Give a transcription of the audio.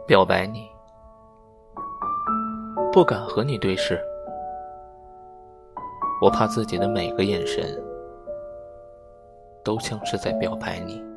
表白你，不敢和你对视，我怕自己的每个眼神都像是在表白你。